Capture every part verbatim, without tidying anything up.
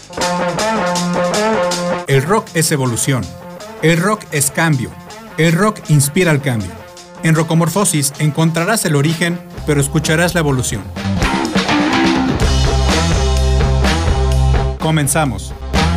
El rock es evolución. El rock es cambio. El rock inspira al cambio. En Rocomorfosis encontrarás el origen, pero escucharás la evolución. Comenzamos.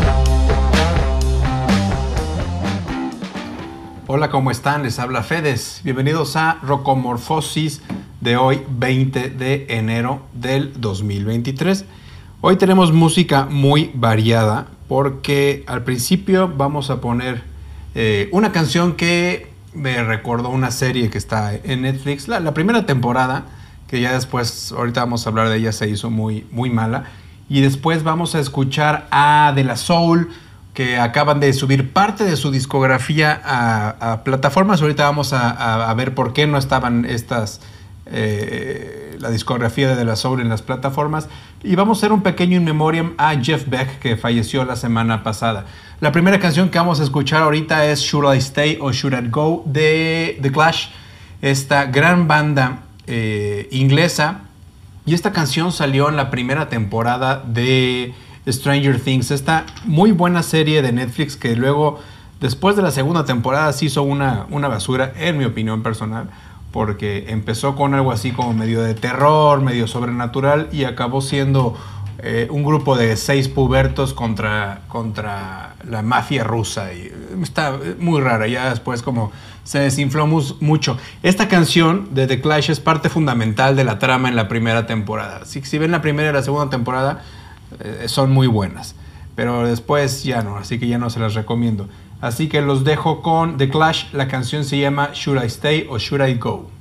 Hola, ¿cómo están? Les habla Fedes. Bienvenidos a Rocomorfosis de hoy, veinte de enero del dos mil veintitrés. Hoy tenemos música muy variada porque al principio vamos a poner eh, una canción que me recordó una serie que está en Netflix, la, la primera temporada, que ya después, ahorita vamos a hablar de ella, se hizo muy, muy mala. Y después vamos a escuchar a De La Soul, que acaban de subir parte de su discografía a, a plataformas. Ahorita vamos a, a, a ver por qué no estaban estas, eh, la discografía de De La Soul en las plataformas. Y vamos a hacer un pequeño in memoriam a Jeff Beck, que falleció la semana pasada. La primera canción que vamos a escuchar ahorita es Should I Stay or Should I Go de The Clash, esta gran banda eh, inglesa. Y esta canción salió en la primera temporada de Stranger Things, esta muy buena serie de Netflix que luego, después de la segunda temporada, se hizo una, una basura, en mi opinión personal, porque empezó con algo así como medio de terror, medio sobrenatural, y acabó siendo eh, un grupo de seis pubertos contra, contra la mafia rusa. Y está muy rara, ya después como se desinfló mucho. Esta canción de The Clash es parte fundamental de la trama en la primera temporada. Si, si ven la primera y la segunda temporada, eh, son muy buenas, pero después ya no, así que ya no se las recomiendo. Así que los dejo con The Clash. La canción se llama Should I Stay or Should I Go?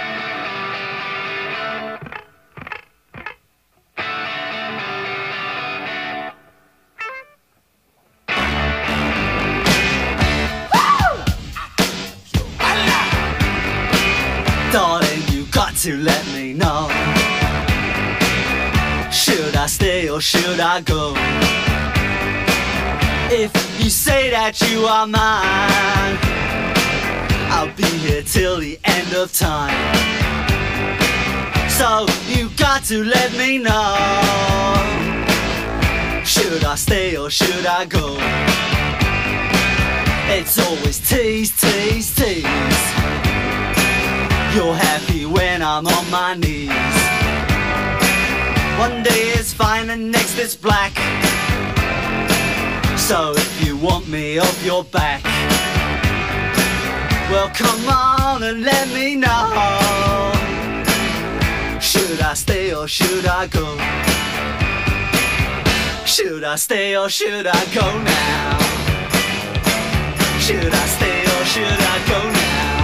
Darling, you got to let me know. Should I stay or should I go? If you say that you are mine, I'll be here till the end of time. So you got to let me know. Should I stay or should I go? It's always tease, tease, tease. You're happy when I'm on my knees. One day it's fine and next it's black. So if you want me off your back, well come on and let me know. Should I stay or should I go? Should I stay or should I go now? Should I stay or should I go now?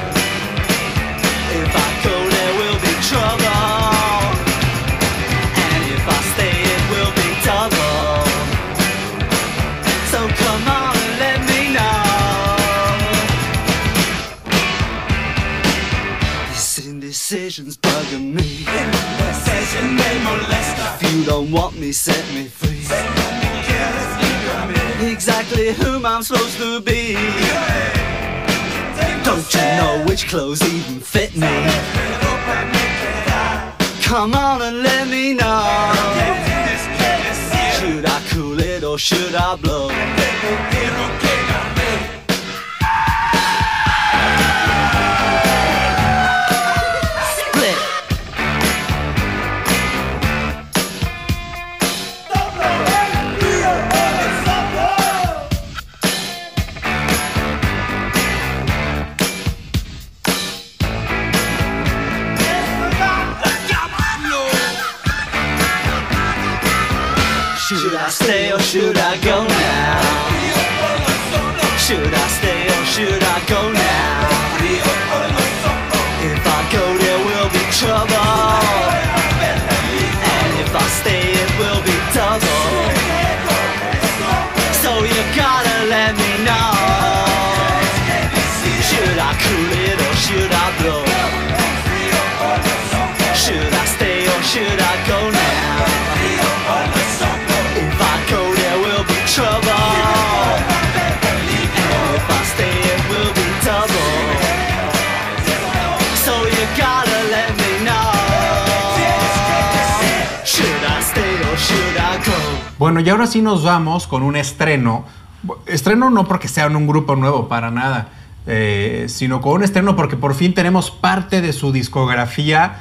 If I go there will be trouble, and if I stay it will be double. So come on and let me know. This indecision's bugging me. Indecision may molest her. If you don't want me, set me free. Exactly whom I'm supposed to be. Don't you know which clothes even fit me? Come on and let me know. Should I cool it or should I blow? Split. Should I stay or should I go now? Should I stay or should I go now? If I go there will be trouble, and if I stay it will be double. So you gotta let me know. Should I cool it or should I blow? Should I stay or should I go now? If I go there will be trouble, and if I stay it will be double. So you gotta let me know. Should I stay or should I go? Bueno, y ahora sí nos vamos con un estreno. Estreno no porque sea un grupo nuevo, para nada, eh, sino con un estreno porque por fin tenemos parte de su discografía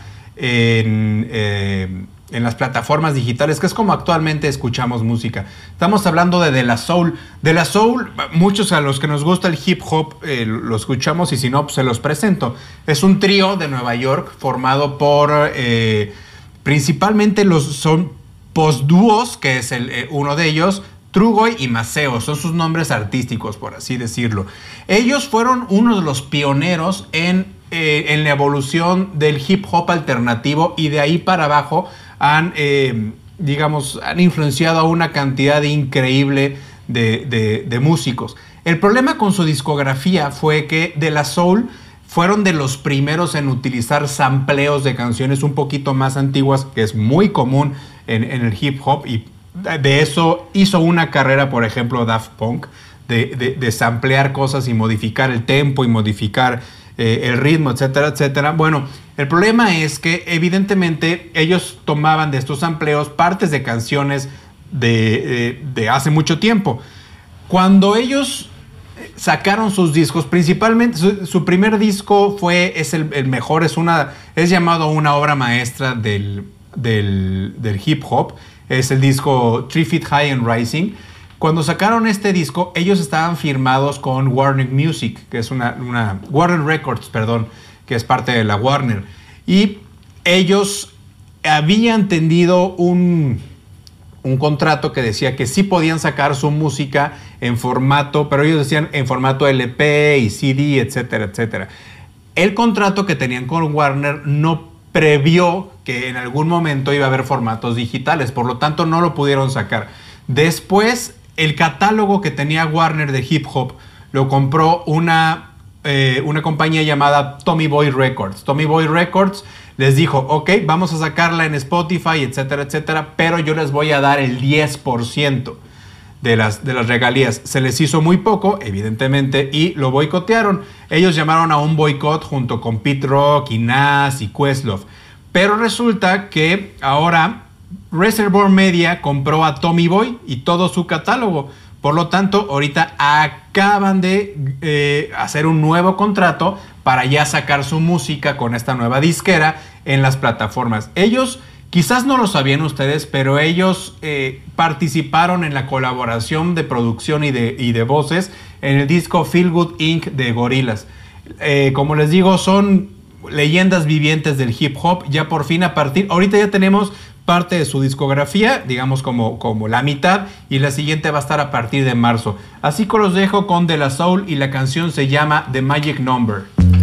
en, eh, en las plataformas digitales, que es como actualmente escuchamos música. Estamos hablando de De La Soul. De La Soul, muchos a los que nos gusta el hip hop eh, lo escuchamos, y si no, pues se los presento. Es un trío de Nueva York formado por eh, principalmente los son postdúos, que es el, eh, uno de ellos, Trugoy y Maceo, son sus nombres artísticos, por así decirlo. Ellos fueron uno de los pioneros en, eh, en la evolución del hip hop alternativo, y de ahí para abajo han, eh, digamos, han influenciado a una cantidad increíble de, de, de músicos. El problema con su discografía fue que De La Soul fueron de los primeros en utilizar sampleos de canciones un poquito más antiguas, que es muy común en, en el hip hop, y de eso hizo una carrera, por ejemplo, Daft Punk, de, de, de samplear cosas y modificar el tempo y modificar eh, el ritmo, etcétera, etcétera. Bueno, el problema es que evidentemente ellos tomaban de estos sampleos partes de canciones de, de, de hace mucho tiempo. Cuando ellos sacaron sus discos, principalmente su, su primer disco fue, es el, el mejor, es, una, es llamado una obra maestra del, del, del hip hop. Es el disco Three Feet High and Rising. Cuando sacaron este disco, ellos estaban firmados con Warner Music, que es una, una Warner Records, perdón, que es parte de la Warner. Y ellos habían tendido un, un contrato que decía que sí podían sacar su música en formato, pero ellos decían en formato L P y C D, etcétera, etcétera. El contrato que tenían con Warner no previó que en algún momento iba a haber formatos digitales, por lo tanto no lo pudieron sacar. Después, el catálogo que tenía Warner de hip hop lo compró una, eh, una compañía llamada Tommy Boy Records. Tommy Boy Records les dijo, ok, vamos a sacarla en Spotify, etcétera, etcétera, pero yo les voy a dar el diez por ciento de las, de las regalías. Se les hizo muy poco, evidentemente, y lo boicotearon. Ellos llamaron a un boicot junto con Pete Rock y Nas y Questlove. Pero resulta que ahora Reservoir Media compró a Tommy Boy y todo su catálogo. Por lo tanto, ahorita acaban de eh, hacer un nuevo contrato para ya sacar su música con esta nueva disquera en las plataformas. Ellos, quizás no lo sabían ustedes, pero ellos eh, participaron en la colaboración de producción y de, y de voces en el disco Feel Good incorporated de Gorillaz. Eh, como les digo, son leyendas vivientes del hip hop. Ya por fin a partir, ahorita ya tenemos parte de su discografía, digamos como, como la mitad, y la siguiente va a estar a partir de marzo. Así que los dejo con De La Soul y la canción se llama The Magic Number.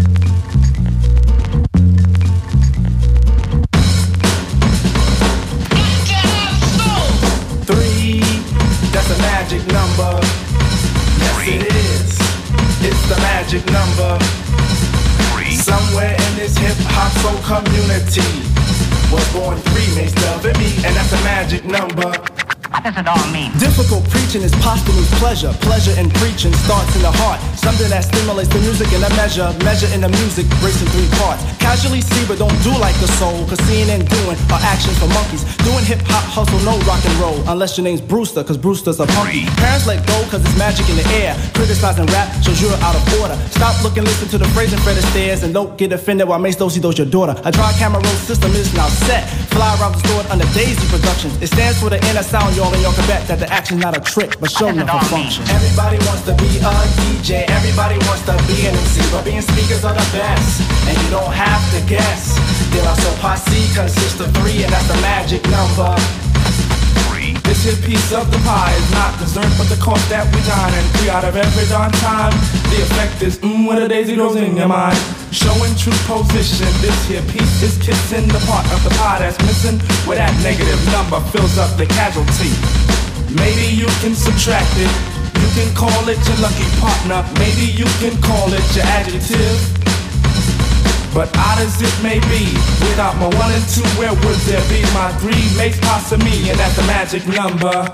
Three, that's a magic number. Yes, it is. It's the magic number. Somewhere in this hip-hop soul community was born three makes love and me, and that's a magic number. What does it all mean? Difficult preaching is posthumous pleasure. Pleasure in preaching starts in the heart. Something that stimulates the music in a measure. Measure in the music breaks in three parts. Casually see but don't do like the soul, cause seeing and doing are actions for monkeys. Doing hip-hop hustle, no rock and roll, unless your name's Brewster, cause Brewster's a punky. Parents let go cause it's magic in the air. Criticizing rap shows you're out of order. Stop looking, listen to the phrase and Fred Astaire, and don't get offended while Mace Dosey does your daughter. A dry camera roll system is now set. Fly around the store under Daisy Productions. It stands for the inner sound, y'all, and y'all can bet that the action's not a trick, but show enough a function. Everybody wants to be a D J, everybody wants to be an M C, but being speakers are the best, and you don't have to guess. De La Soul Posse consists of three, and that's the magic number. This here piece of the pie is not dessert, but the cost that we dine, and three out of every darn time. The effect is mmm, when a daisy grows in your mind. Showing true position, this here piece is kissing the part of the pie that's missing, where that negative number fills up the casualty. Maybe you can subtract it, you can call it your lucky partner, maybe you can call it your adjective. But odd as it may be, without my one and two, where would there be? My three makes possible me, and that's the magic number.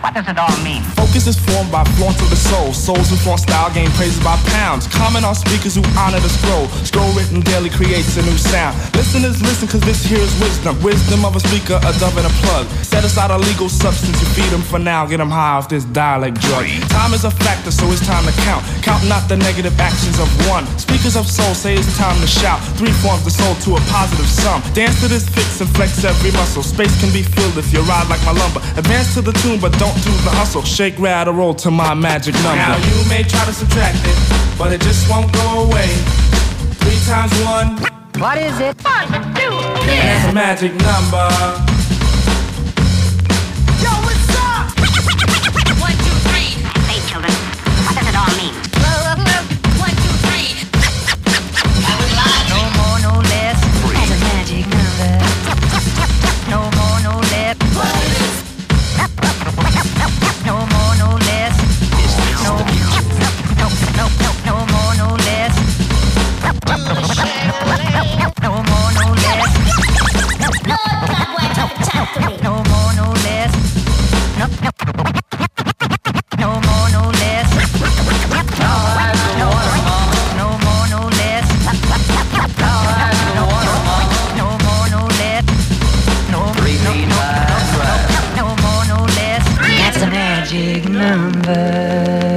What does it all mean? Focus is formed by flaunt of the soul. Souls who flaunt style gain praises by pounds. Comment on speakers who honor the scroll. Scroll written daily creates a new sound. Listeners listen cause this here is wisdom. Wisdom of a speaker, a dove and a plug. Set aside a legal substance, you feed them for now. Get them high off this dialect drug. Time is a factor, so it's time to count. Count not the negative actions of one. Speakers of soul say it's time to shout. Three forms the soul to a positive sum. Dance to this fix and flex every muscle. Space can be filled if you ride like my lumber. Advance to the tune but don't do the hustle. Shake, rattle, roll to my magic number. Now you may try to subtract it, but it just won't go away. Three times one. What is it? One, two, three. That's a magic number. Yo, what's up? One, two, three. Hey, children, what does it all mean? One, two, three. I was lying. No more, no less. That's a magic number. No more, no less. No more, no less. No, no, no, no, no more, no less. No more, no less. Lord God, why talk talk to me? No more, no less. No, no, no more, no less. No, no, no more, no less. No, no, no more, no less. No, no, no, no more, no less. That's a magic number.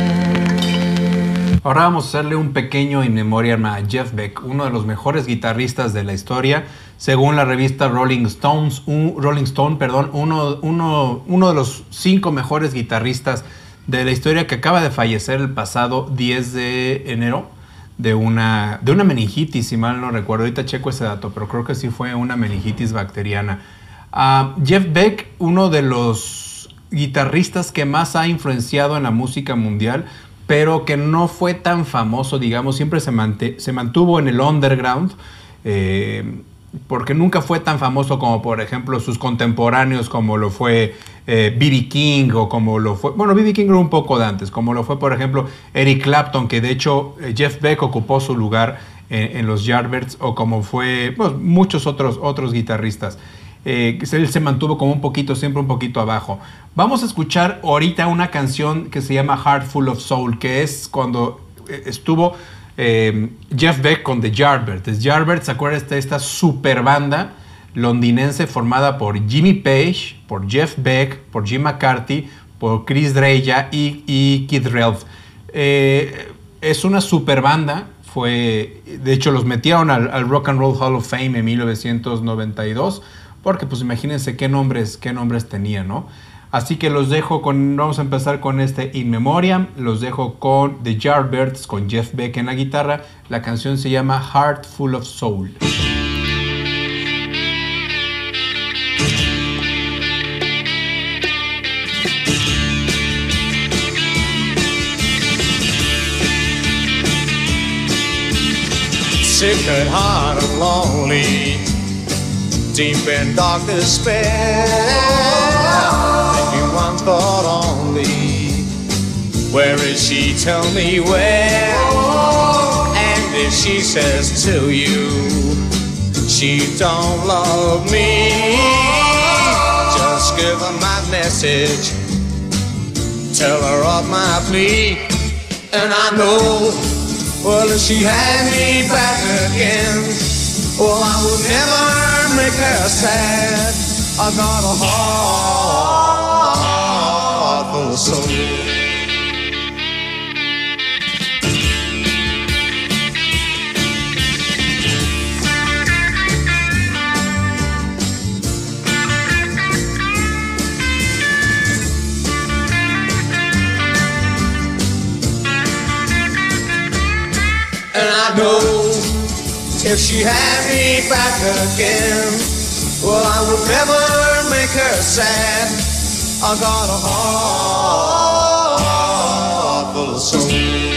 Ahora vamos a hacerle un pequeño in memoriam a Jeff Beck, uno de los mejores guitarristas de la historia, según la revista Rolling Stones, un, Rolling Stone, perdón, uno, uno, uno de los cinco mejores guitarristas de la historia, que acaba de fallecer el pasado diez de enero de una, de una meningitis, si mal no recuerdo. Ahorita checo ese dato, pero creo que sí fue una meningitis bacteriana. Uh, Jeff Beck, uno de los guitarristas que más ha influenciado en la música mundial, pero que no fue tan famoso, digamos, siempre se, mante se mantuvo en el underground, eh, porque nunca fue tan famoso como, por ejemplo, sus contemporáneos, como lo fue eh, B B King, o como lo fue, bueno, B B King era un poco de antes, como lo fue, por ejemplo, Eric Clapton, que de hecho eh, Jeff Beck ocupó su lugar en, en los Yardbirds, o como fue, pues, muchos otros, otros guitarristas. Eh, él se mantuvo como un poquito, siempre un poquito abajo. Vamos a escuchar ahorita una canción que se llama Heart Full of Soul, que es cuando estuvo eh, Jeff Beck con The Yardbirds. The Yardbirds, ¿se acuerdan de esta super banda londinense formada por Jimmy Page, por Jeff Beck, por Jim McCarthy, por Chris Dreja y, y Keith Relf? Eh, es una super banda. Fue, de hecho, los metieron al, al Rock and Roll Hall of Fame en mil novecientos noventa y dos. Porque pues imagínense qué nombres, qué nombres tenía, ¿no? Así que los dejo con, vamos a empezar con este In Memoriam, los dejo con The Yardbirds, con Jeff Beck en la guitarra. La canción se llama Heart Full of Soul. Sick at heart and lonely, deep in dark despair, thinking one thought only, where is she, tell me where? And if she says to you she don't love me, just give her my message, tell her of my plea. And I know, well, if she had me back again, well, I would never make her sad. I got a heart full of soul. And I know if she had me back again, well, I would never make her sad. I got a heart full of soul.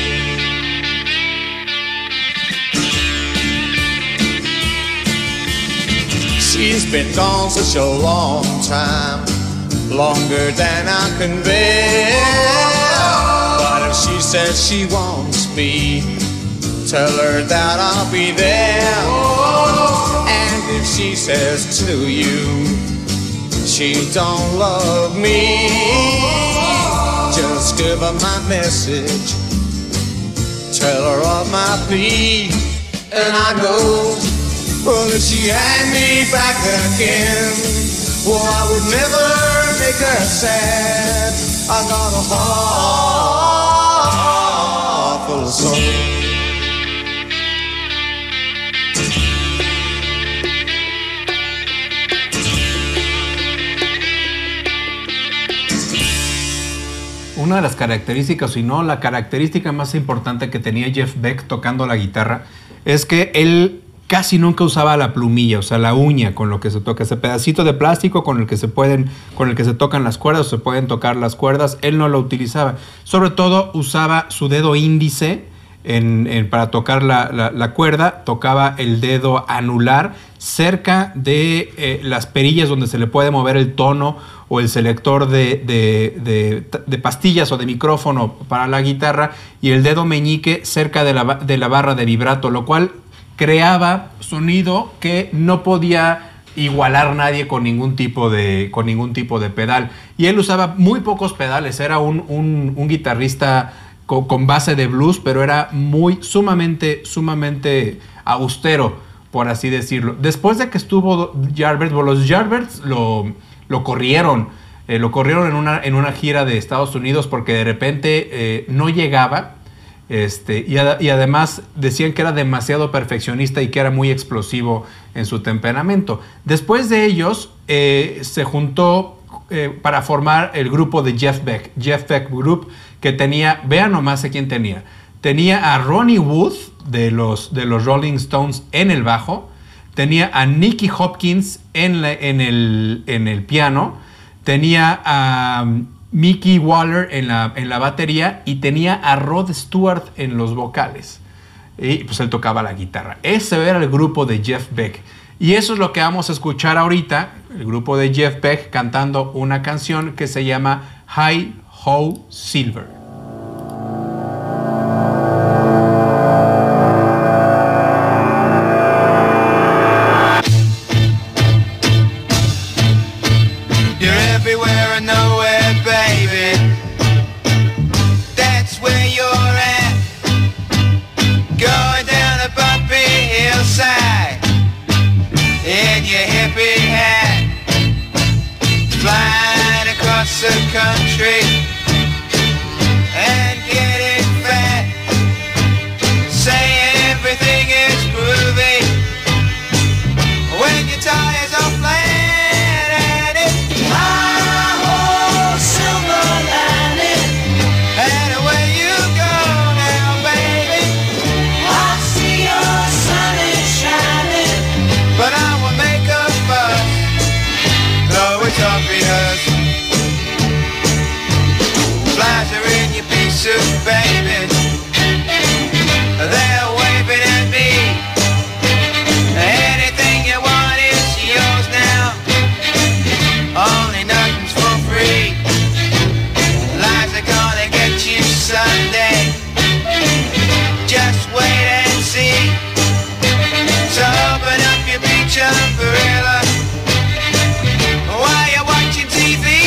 She's been gone such a long time, longer than I can bear. But if she says she wants me, tell her that I'll be there. And if she says to you she don't love me, just give her my message, tell her of my plea, and I go. Well, if she had me back again, well, I would never make her sad. I got a heart full of soul. Una de las características, si no la característica más importante que tenía Jeff Beck tocando la guitarra, es que él casi nunca usaba la plumilla, o sea, la uña con lo que se toca, ese pedacito de plástico con el que se pueden, con el que se tocan las cuerdas o se pueden tocar las cuerdas, él no lo utilizaba. Sobre todo usaba su dedo índice en, en, para tocar la, la, la cuerda, tocaba el dedo anular cerca de eh, las perillas donde se le puede mover el tono o el selector de, de, de, de pastillas o de micrófono para la guitarra, y el dedo meñique cerca de la, de la barra de vibrato, lo cual creaba sonido que no podía igualar nadie con ningún tipo de, con ningún tipo de pedal. Y él usaba muy pocos pedales, era un, un, un guitarrista con, con base de blues, pero era muy sumamente, sumamente austero, por así decirlo. Después de que estuvo Yardbirds, bueno, los Yardbirds lo, lo corrieron, eh, lo corrieron en una, en una gira de Estados Unidos porque de repente eh, no llegaba. Este, y, ad, y además decían que era demasiado perfeccionista y que era muy explosivo en su temperamento. Después de ellos eh, se juntó eh, para formar el grupo de Jeff Beck, Jeff Beck Group, que tenía, vean nomás a quién tenía. Tenía a Ronnie Wood de los, de los Rolling Stones en el bajo, tenía a Nicky Hopkins en, la, en, el, en el piano, tenía a Mickey Waller en la, en la batería y tenía a Rod Stewart en los vocales. Y pues él tocaba la guitarra. Ese era el grupo de Jeff Beck. Y eso es lo que vamos a escuchar ahorita, el grupo de Jeff Beck cantando una canción que se llama Hi Ho Silver. The country and getting fat, saying everything is groovy when your tires are flat and it's high-ho silver lining, and away you go now, baby. I see your sun is shining, but I will make a fuss, though it's obvious. Flies are in your pea suit, baby. They're waving at me. Anything you want is yours now. Only nothing's for free. Lies are gonna get you someday. Just wait and see. So open up your beach umbrella while you're watching T V.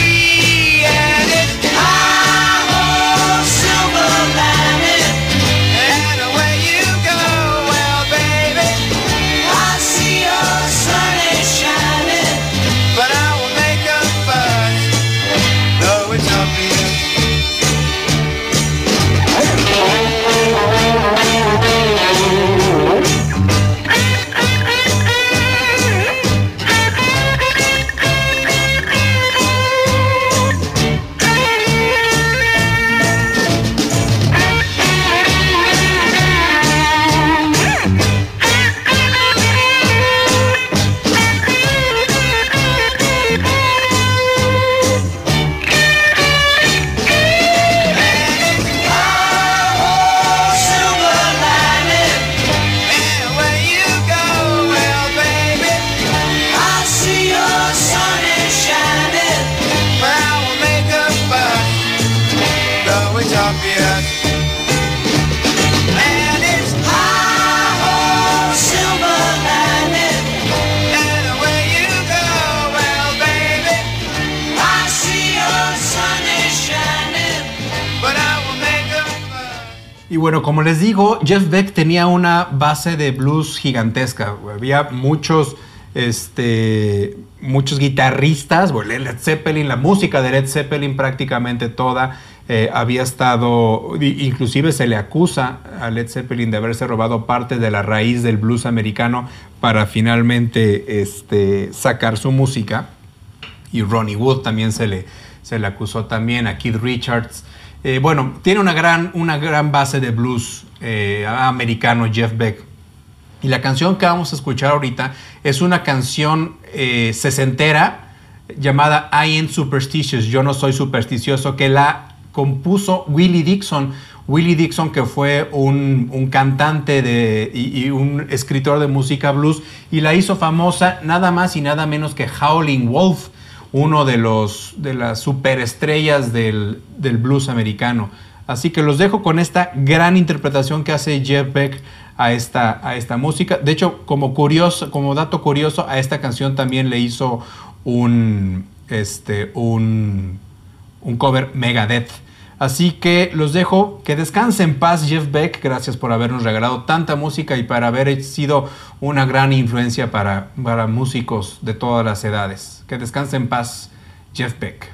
Y bueno, como les digo, Jeff Beck tenía una base de blues gigantesca. Había muchos, este, muchos guitarristas. Bueno, Led Zeppelin, la música de Led Zeppelin prácticamente toda eh, había estado, inclusive se le acusa a Led Zeppelin de haberse robado parte de la raíz del blues americano para finalmente este, sacar su música. Y Ronnie Wood también se le, se le acusó también, a Keith Richards. Eh, bueno, tiene una gran, una gran base de blues eh, americano, Jeff Beck. Y la canción que vamos a escuchar ahorita es una canción eh, sesentera llamada I Ain't Superstitious, Yo No Soy Supersticioso, que la compuso Willie Dixon. Willie Dixon, que fue un, un cantante de, y, y un escritor de música blues, y la hizo famosa nada más y nada menos que Howlin' Wolf, uno de, los, de las superestrellas del, del blues americano. Así que los dejo con esta gran interpretación que hace Jeff Beck a esta, a esta música. De hecho, como, curioso, como dato curioso, a esta canción también le hizo un, este, un, un cover Megadeth. Así que los dejo, que descanse en paz Jeff Beck, gracias por habernos regalado tanta música y para haber sido una gran influencia para, para músicos de todas las edades. Que descanse en paz Jeff Beck.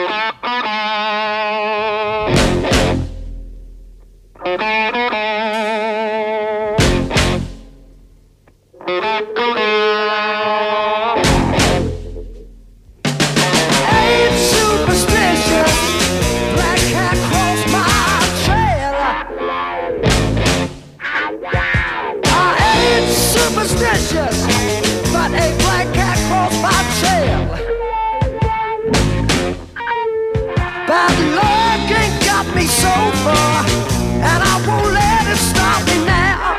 But a black cat crossed my trail. Bad luck ain't got me so far, and I won't let it stop me now.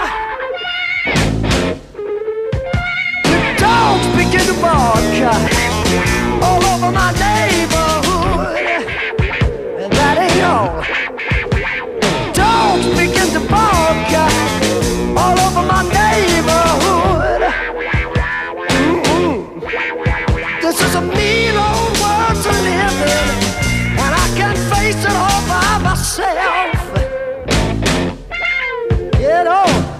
The dogs begin to bark all over my neighborhood, and that ain't all. Dogs begin to bark all over my neighborhood. Mm-mm. This is a mean old world to live in, and I can't face it all by myself. Get on.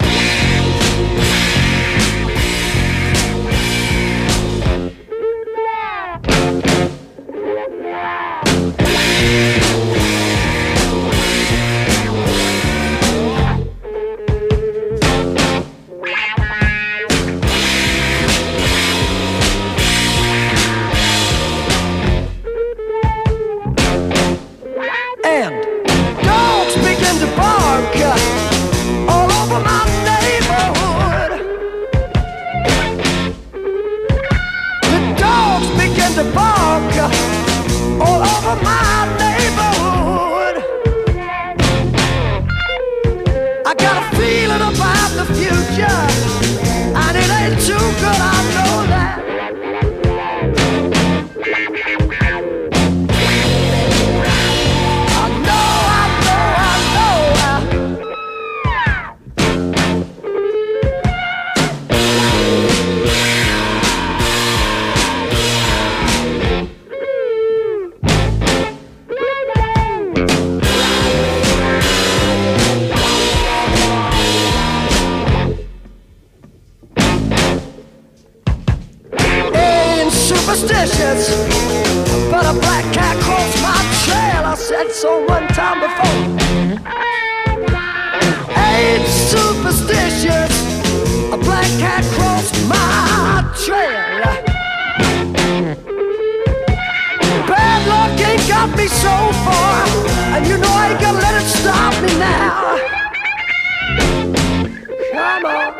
All over my neighborhood. The dogs begin to bark all over my neighborhood. I got a feeling about the future, and it ain't too good, I know that. Superstitious, but a black cat crossed my trail. I said so one time before. Ain't superstitious, a black cat crossed my trail. Bad luck ain't got me so far, and you know I ain't gonna let it stop me now. Come on.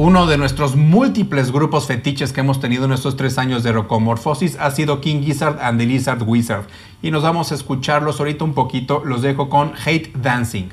Uno de nuestros múltiples grupos fetiches que hemos tenido en estos tres años de Rocomorfosis ha sido King Gizzard and the Lizard Wizard. Y nos vamos a escucharlos ahorita un poquito. Los dejo con Hate Dancing.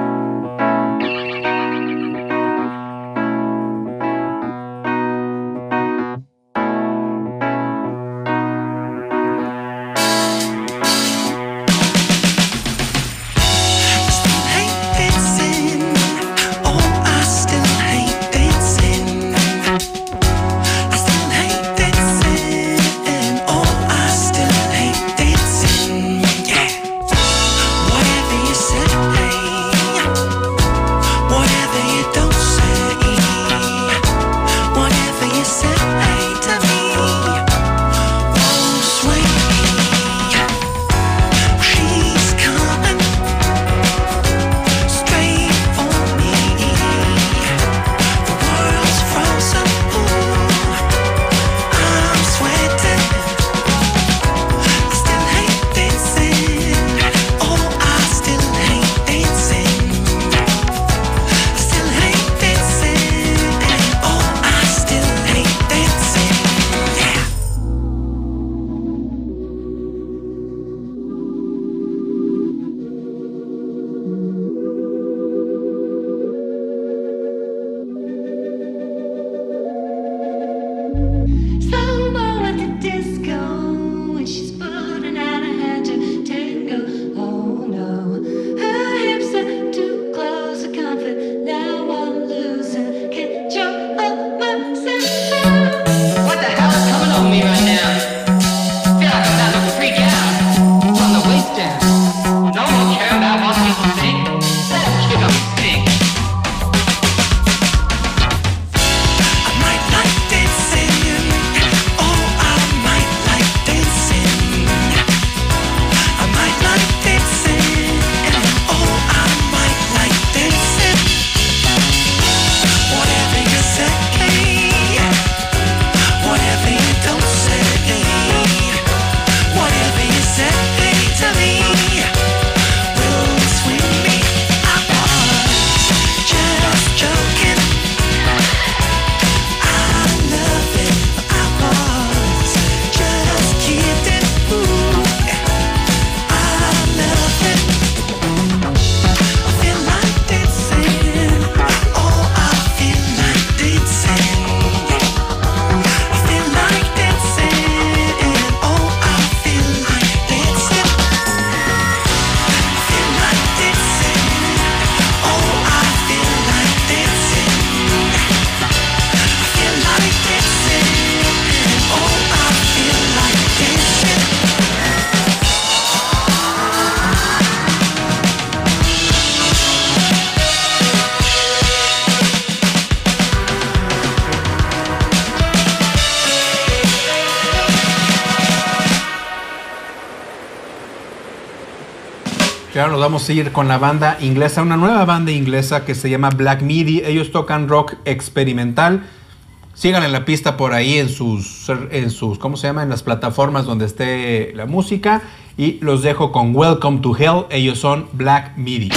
Y ahora nos vamos a ir con la banda inglesa, una nueva banda inglesa que se llama Black Midi. Ellos tocan rock experimental. Sigan en la pista por ahí en sus, en sus, ¿cómo se llama? En las plataformas donde esté la música. Y los dejo con Welcome to Hell. Ellos son Black Midi.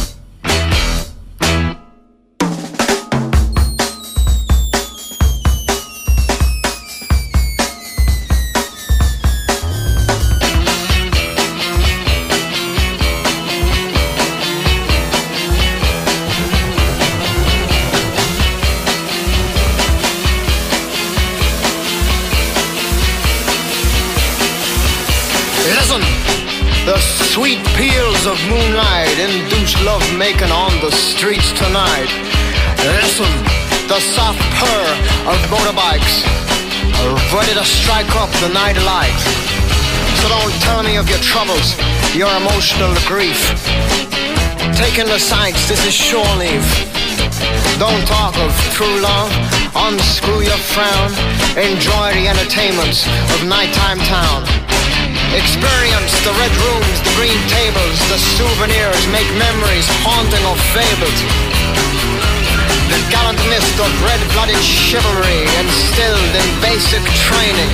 Sweet peals of moonlight induce love-making on the streets tonight. Listen, the soft purr of motorbikes are ready to strike up the night light. So don't tell me of your troubles, your emotional grief. Take in the sights, this is shore leave. Don't talk of true love, unscrew your frown. Enjoy the entertainments of nighttime town. Experience the red rooms, the green tables, the souvenirs, make memories haunting of fables. The gallant mist of red-blooded chivalry instilled in basic training.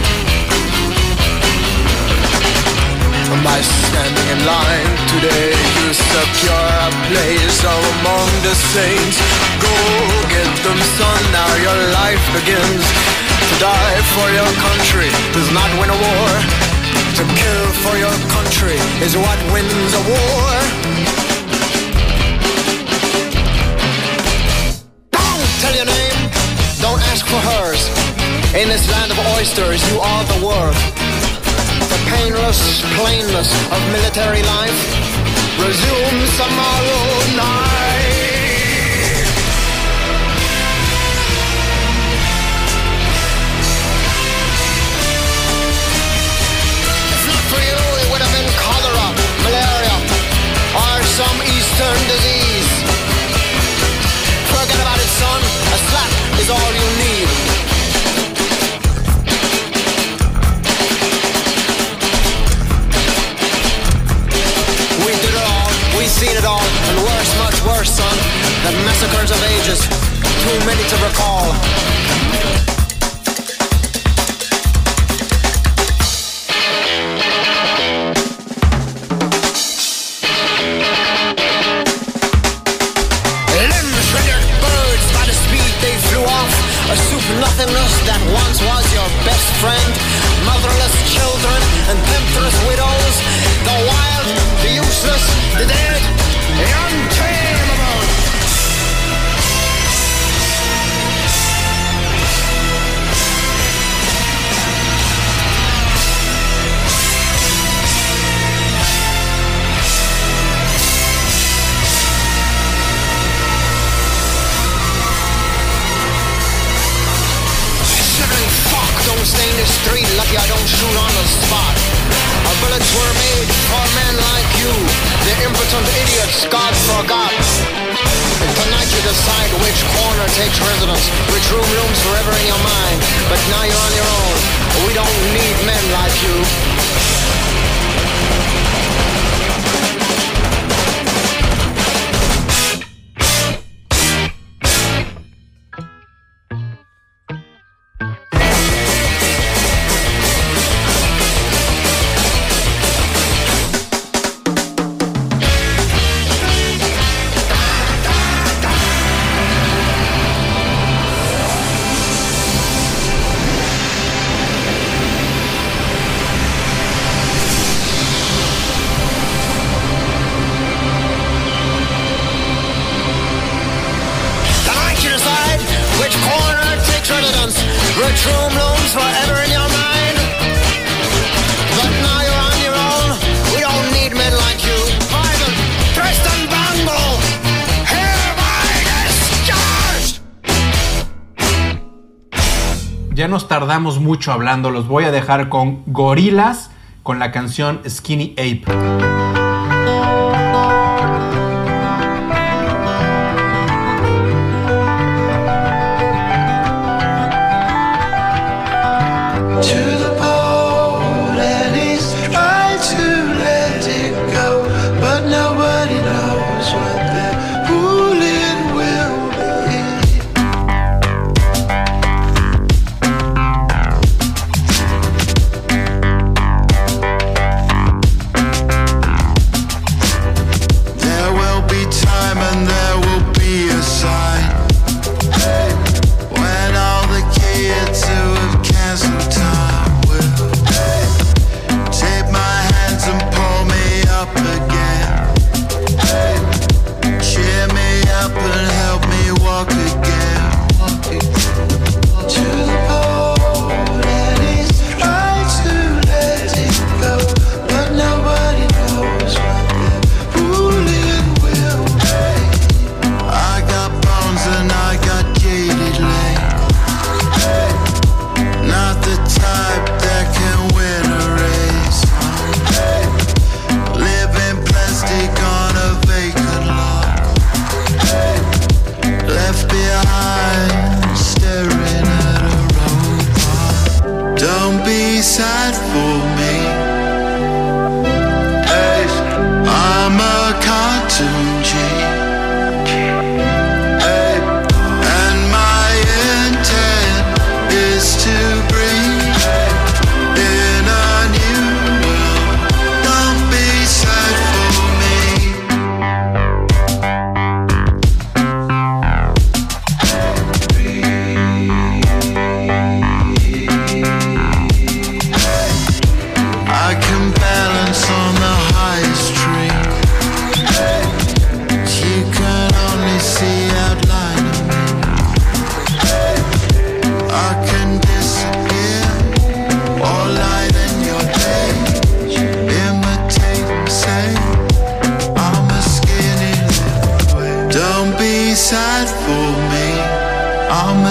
Am I standing in line today? You secure a place among the saints. Go get them, son, now your life begins. To die for your country does not win a war. To kill for your country is what wins a war. Don't tell your name, don't ask for hers. In this land of oysters, you are the world. The painless plainness of military life resumes tomorrow night. If not for you, it would have been cholera, malaria, or some eastern disease. Forget about it, son. A slap is all you need. We've seen it all, and worse, much worse, son. The massacres of ages, too many to recall. Limbs rendered birds by the speed they flew off. A soup nothingness that once was your best friend. Motherless children and temptress widows. The wild, the useless, the dead, the untamable. Shivering fuck, don't stay in the street. Lucky I don't shoot on the spot. Our bullets were made for men like you, the impotent idiots God forgot. And tonight you decide which corner takes residence, which room looms forever in your mind. But now you're on your own. We don't need men like you. Which room looms forever in your mind. But now you're on your own. We don't need men like you. Private Preston Bungle, hereby discharged. Ya nos tardamos mucho hablando. Los voy a dejar con Gorillaz con la canción Skinny Ape.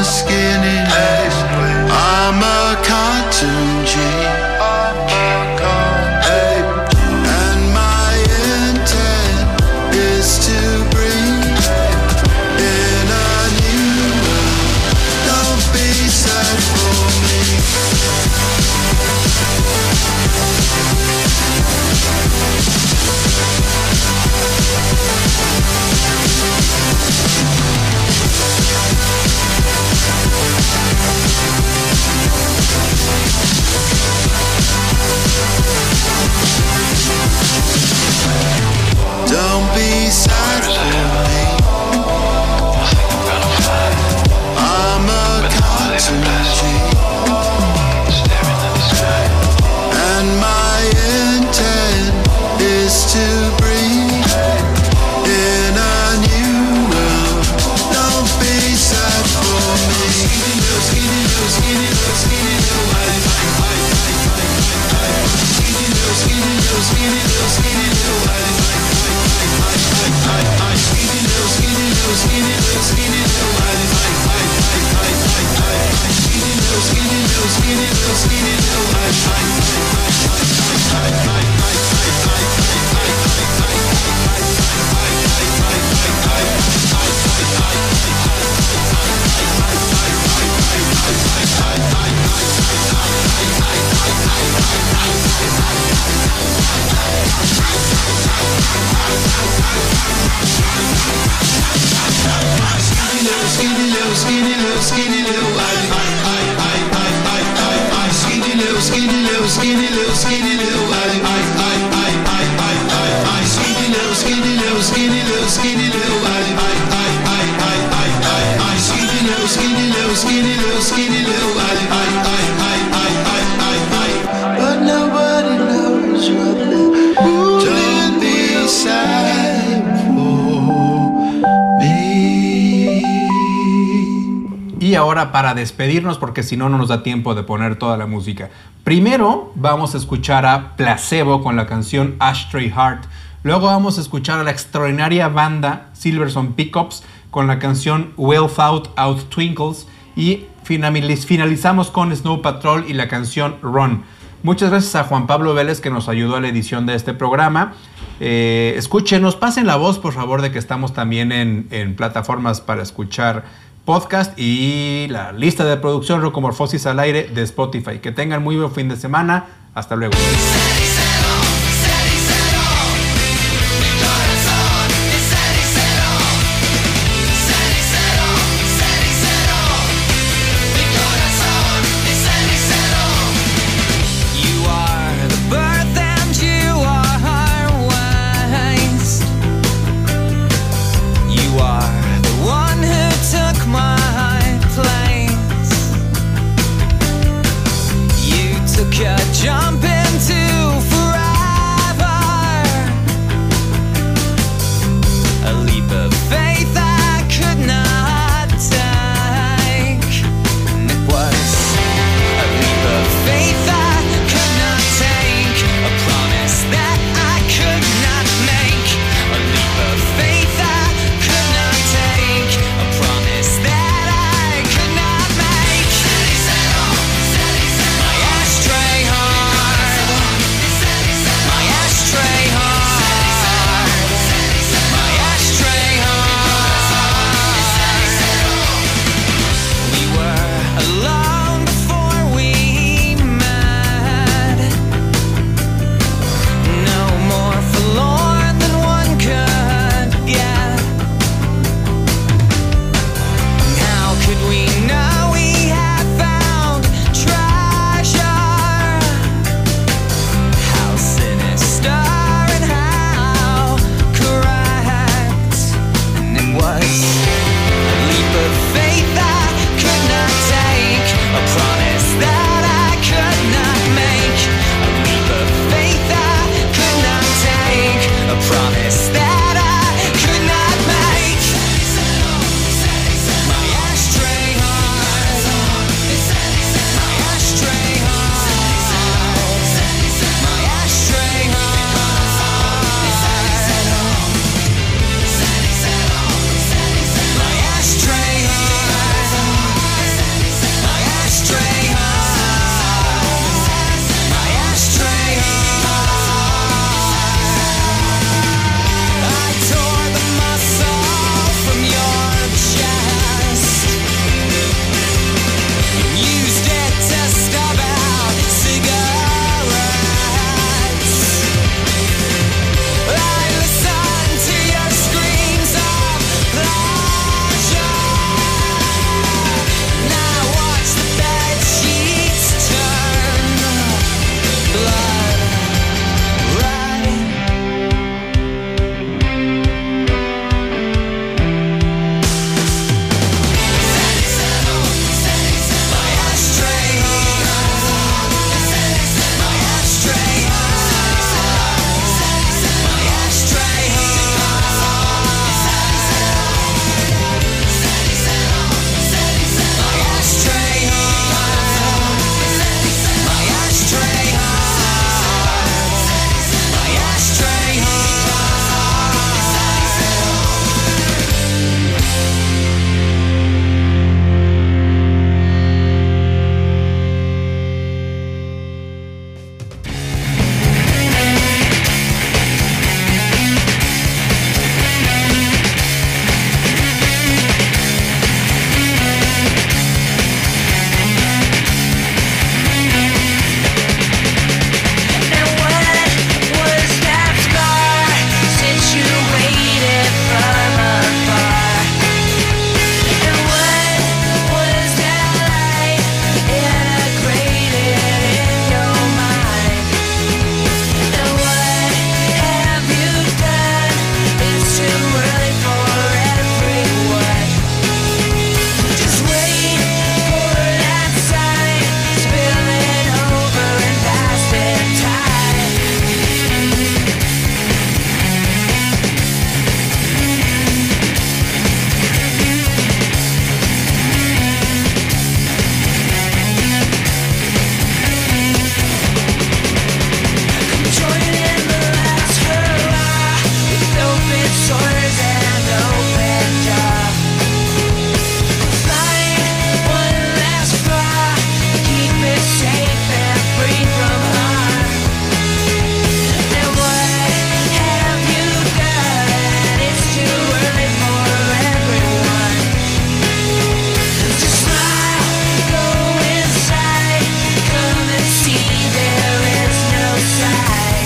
skinny little. I'm a cartoon G. Hey, and my intent is to breathe in a new world. Don't be sad for me. Don't be sad for me. I'm a cartoon G. And my intent is to breathe in a new world. Don't be sad for me. Skinny little, skinny little, skinny little, skinny little, skinny little, skinny little, skinny little, skinny little, skinny little, skinny little, skinny little, skinny little, skinny little, skinny little, skinny skinny little, skinny little, skinny little, I, I, I, I, I, I, I, skinny little, skinny little, skinny little, skinny little, I, I, I, I, I, I, I, I, skinny little, skinny little, skinny little, skinny little, I, I, I, I, I, I, I, I, skinny little, skinny little, skinny little, skinny little, I, I, I, I, I, I, I, I, but nobody knows what it is. Don't be sad for me. Y ahora, para despedirnos, porque si no, no nos da tiempo de poner toda la música. Primero vamos a escuchar a Placebo con la canción Ashtray Heart. Luego vamos a escuchar a la extraordinaria banda Silverson Pickups con la canción Well Thought Out Twinkles. Y finalizamos con Snow Patrol y la canción Run. Muchas gracias a Juan Pablo Vélez, que nos ayudó a la edición de este programa. Eh, escúchenos, pasen la voz, por favor, de que estamos también en, en plataformas para escuchar podcast y la lista de producción Rocomorfosis al aire de Spotify. Que tengan muy buen fin de semana. Hasta luego. Jump into forever. shores and open jaw. Flying one last fly, keep it safe and free from harm. And what have you done? It's too early for everyone. Just smile, go inside, come and see there is no side.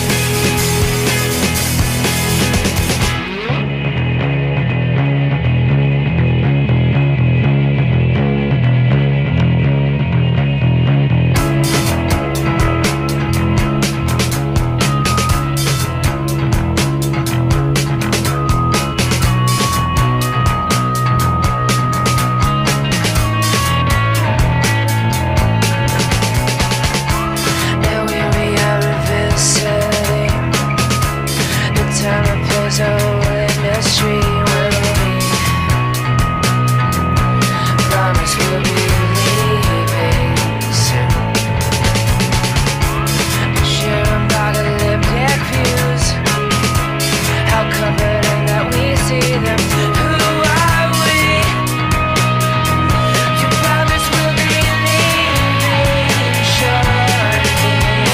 And we we are revisiting the time and place of industry when we promise we'll be leaving soon. Share apocalyptic views, how confident that we see them. Who are we? You promise we'll be leaving shortly.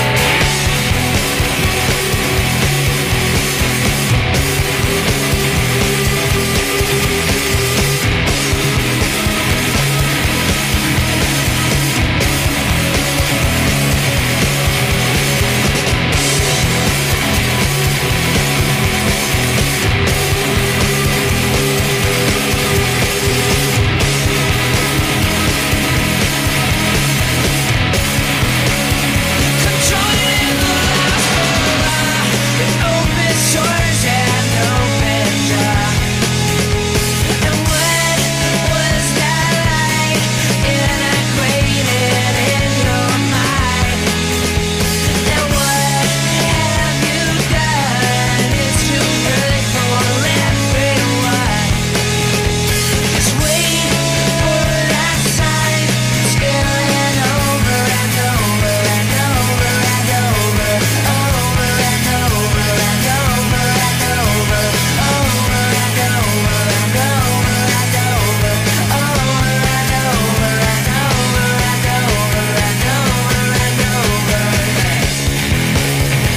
Controlling the last hurrah, with open shores and open jaw. And what was that like integrated in your mind? And what have you done? It's too early for everyone. Just wait for that sign, spilling over and over and over and over, over and over and over and over, over and over and over and over, over and over and over and over and over and over.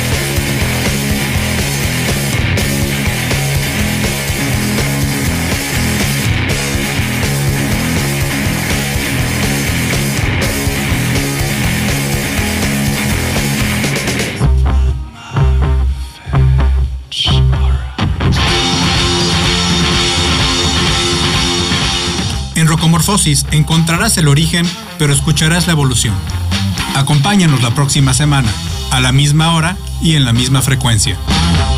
En Rocomorfosis encontrarás el origen, pero escucharás la evolución. Acompáñanos la próxima semana, a la misma hora y en la misma frecuencia.